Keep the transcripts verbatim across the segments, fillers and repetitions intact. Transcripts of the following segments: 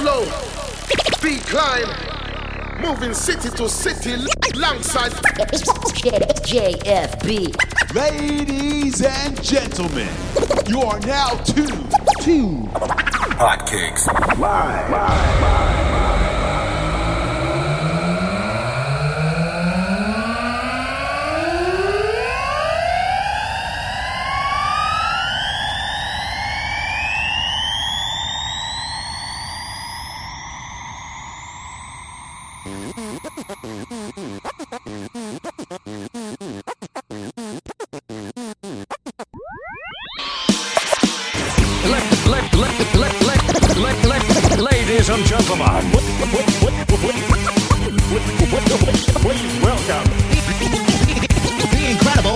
flow, decline, moving city to city, alongside J F B. Ladies and gentlemen, you are now tuned to Hotcakes Live. Live. Ladies and gentlemen, please welcome The incredible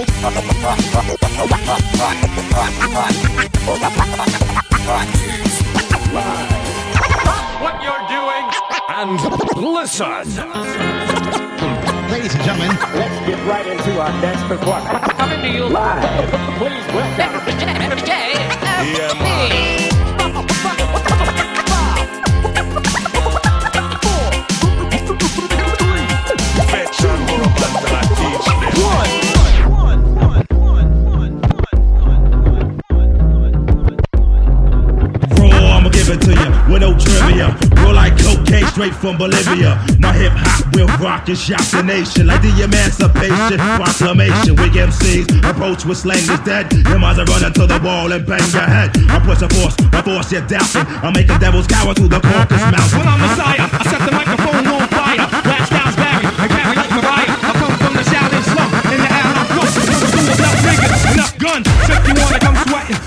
what you're doing and listen. Ladies and gentlemen, let's get right into our next performance. Coming to you live. Please welcome J F B. With no trivia, roll like cocaine straight from Bolivia. My hip hop will rock and shock the nation like the Emancipation Proclamation. Weak M Cs approach with slang is dead. Your minds are running to the wall and bang your head. I push a force, I force you doubting. I make a devil's cower through the Caucasus Mountain. When I'm Messiah, I set the microphone on fire. Rap styles vary, I carry like Mariah. I come from the shouting slum in the air I'm close. Enough niggas, enough guns, so if you wanna come sweating.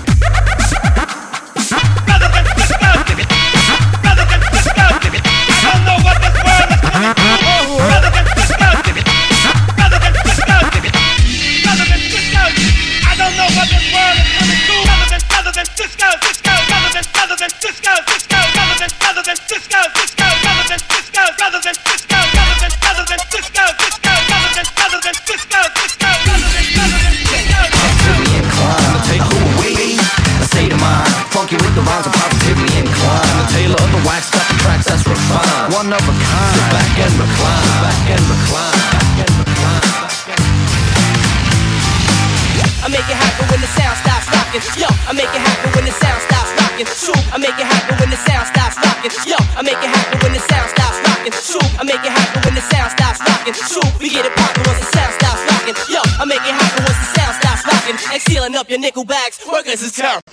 One of a kind. Sit back and recline. Sit back and recline. I make it happen when the sound stops rocking. Yo, I make it happen when the sound stops rocking. Shoot, I make it happen when the sound stops rocking. Yo, I make it happen when the sound stops rocking. Shoot, I make it happen when the sound stops rocking. Shoot, we get it poppin' once the sound stops rocking. Yo, I make it happen once the sound stops rocking. And sealing up your nickel bags. Workers is terrible.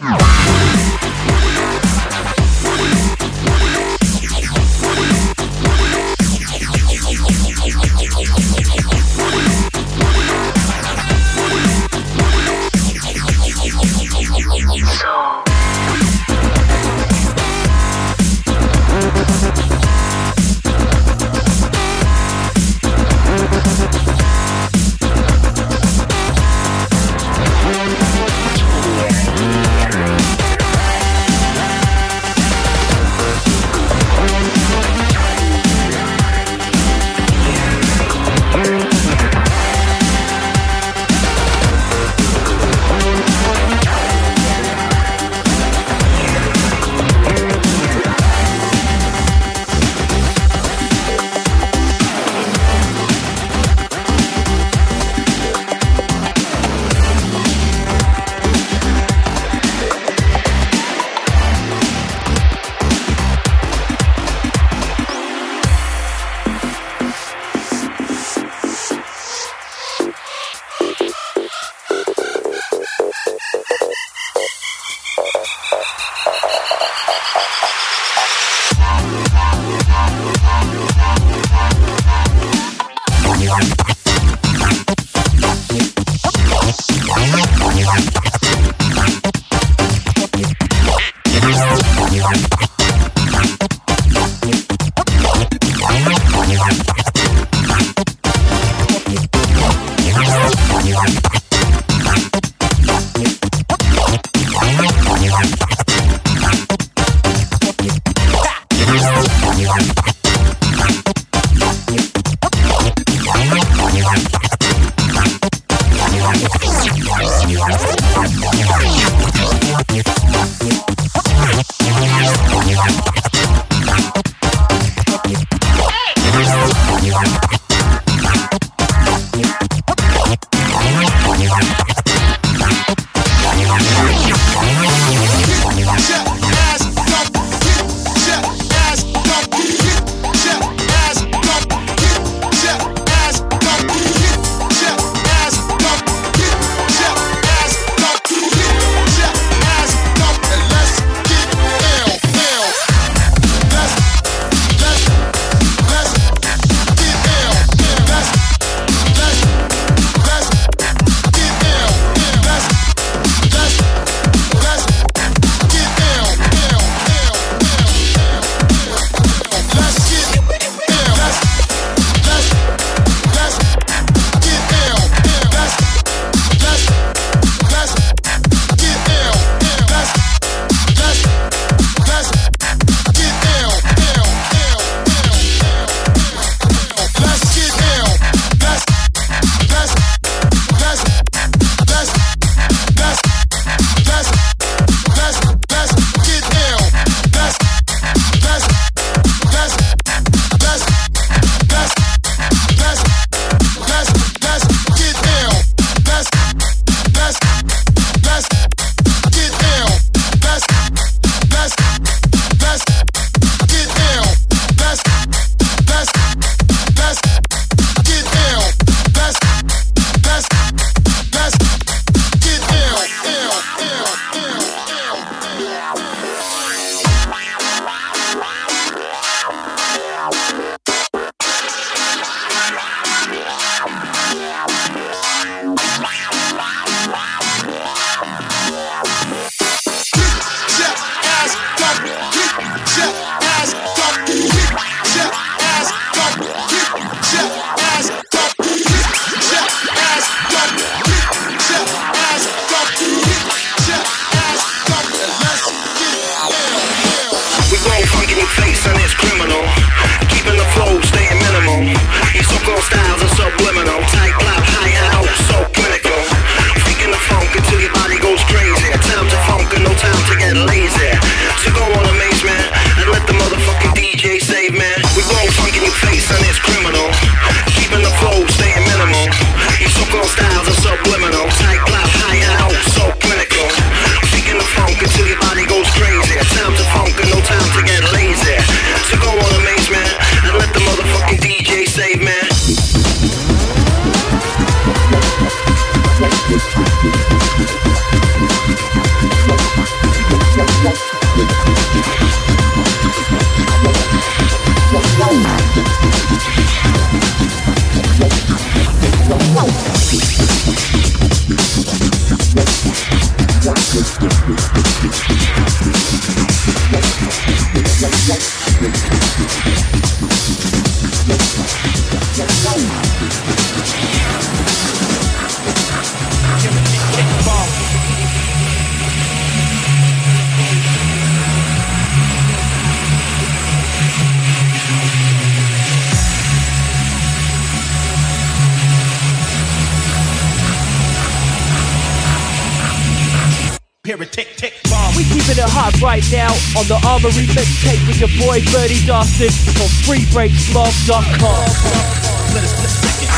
Tick, tick, bomb. We keeping it hot right now on the Armory mixtape with your boy Birdie Dustin from free breaks blog dot com. Let us split second.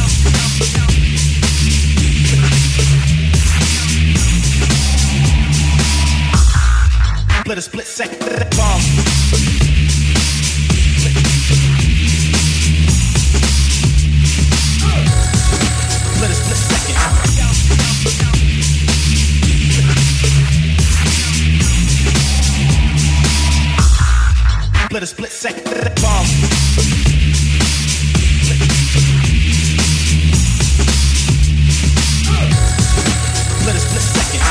Let us split second. Bomb. Let us split second. Let us split second bomb. Let us split second.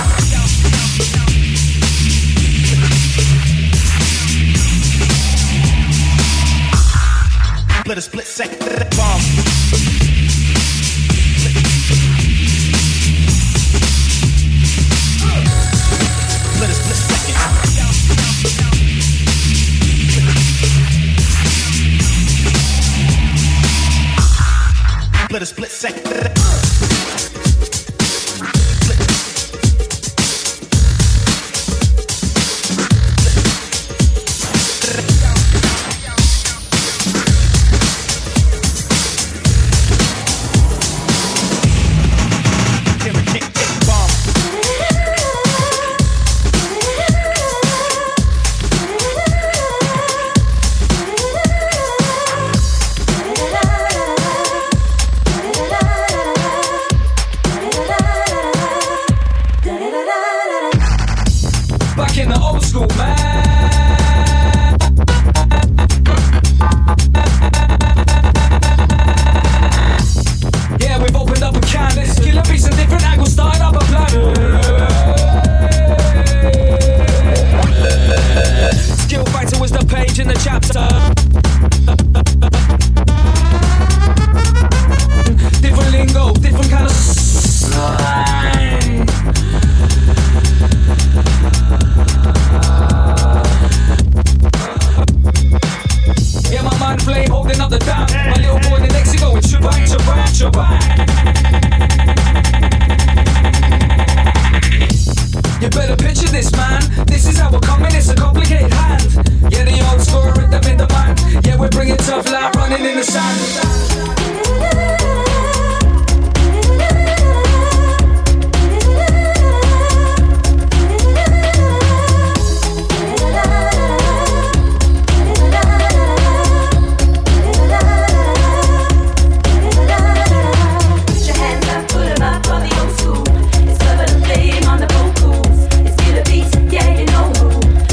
Let us split second bomb. Let us split second. Let us split second.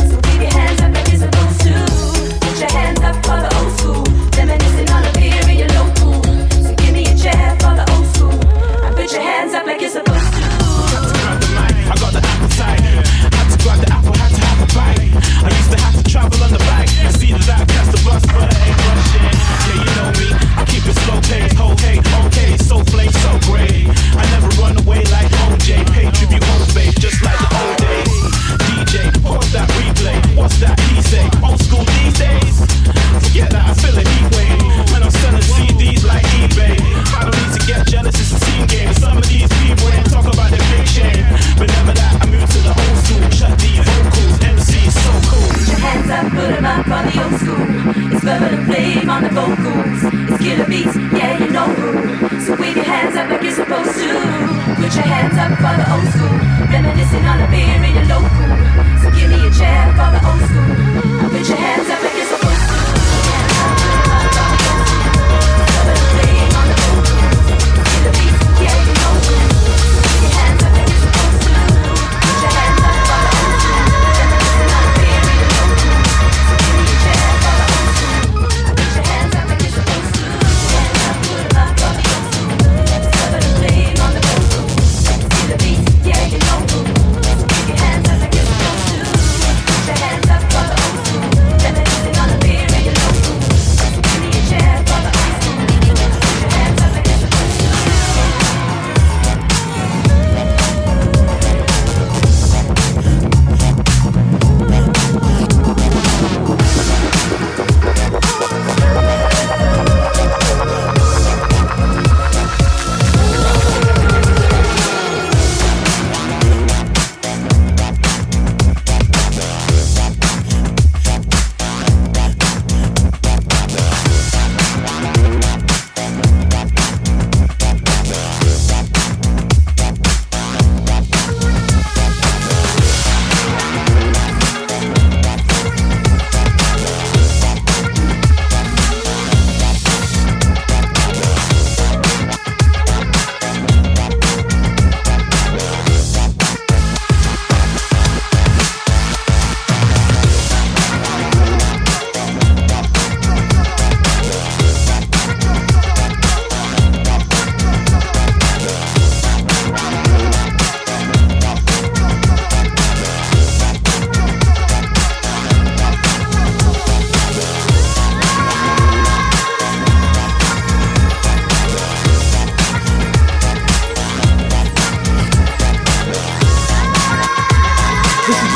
Reminiscing on a beer in your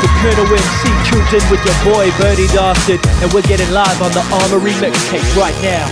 The Colonel M C tuned in with your boy Birdie Dastard, and we're getting live on the Armory mixtape right now.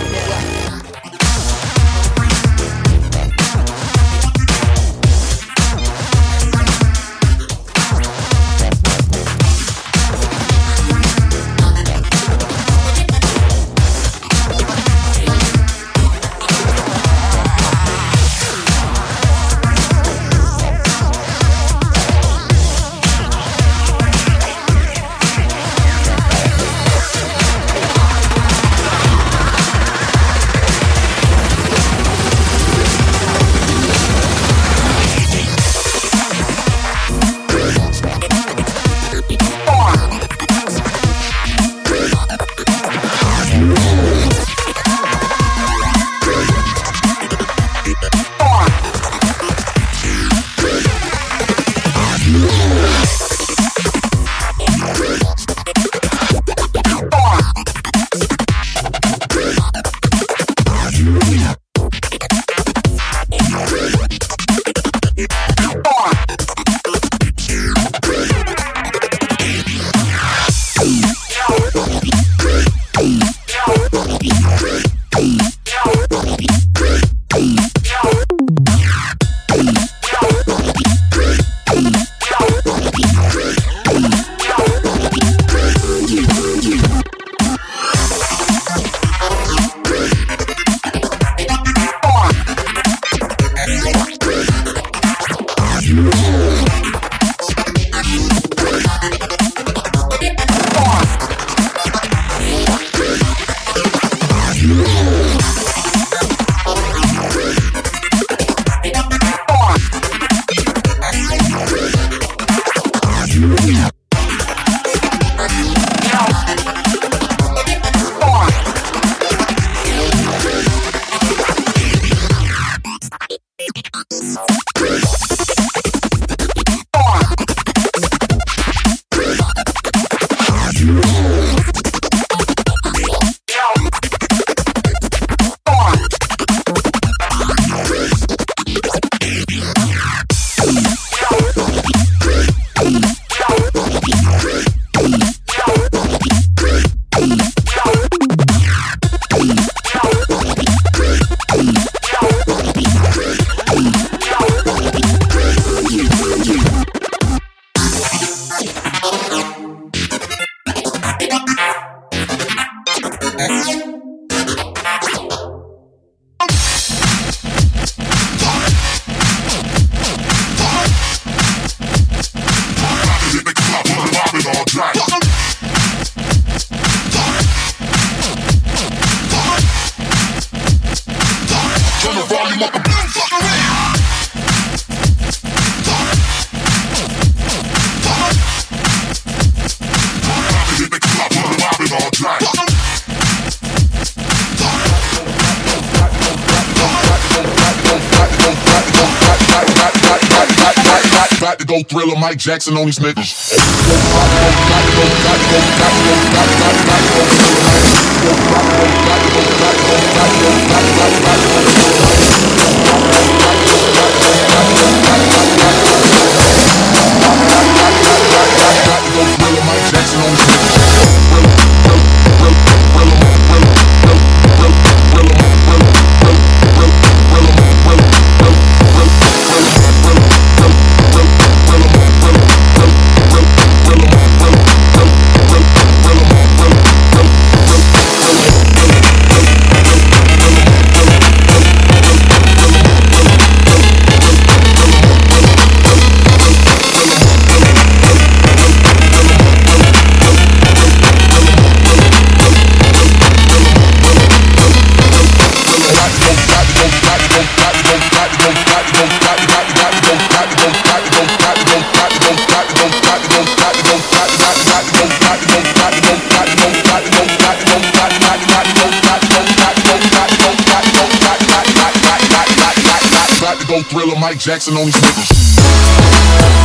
Go Thriller, Mike Jackson on these niggas. Go Thriller, Mike Jackson on these niggas.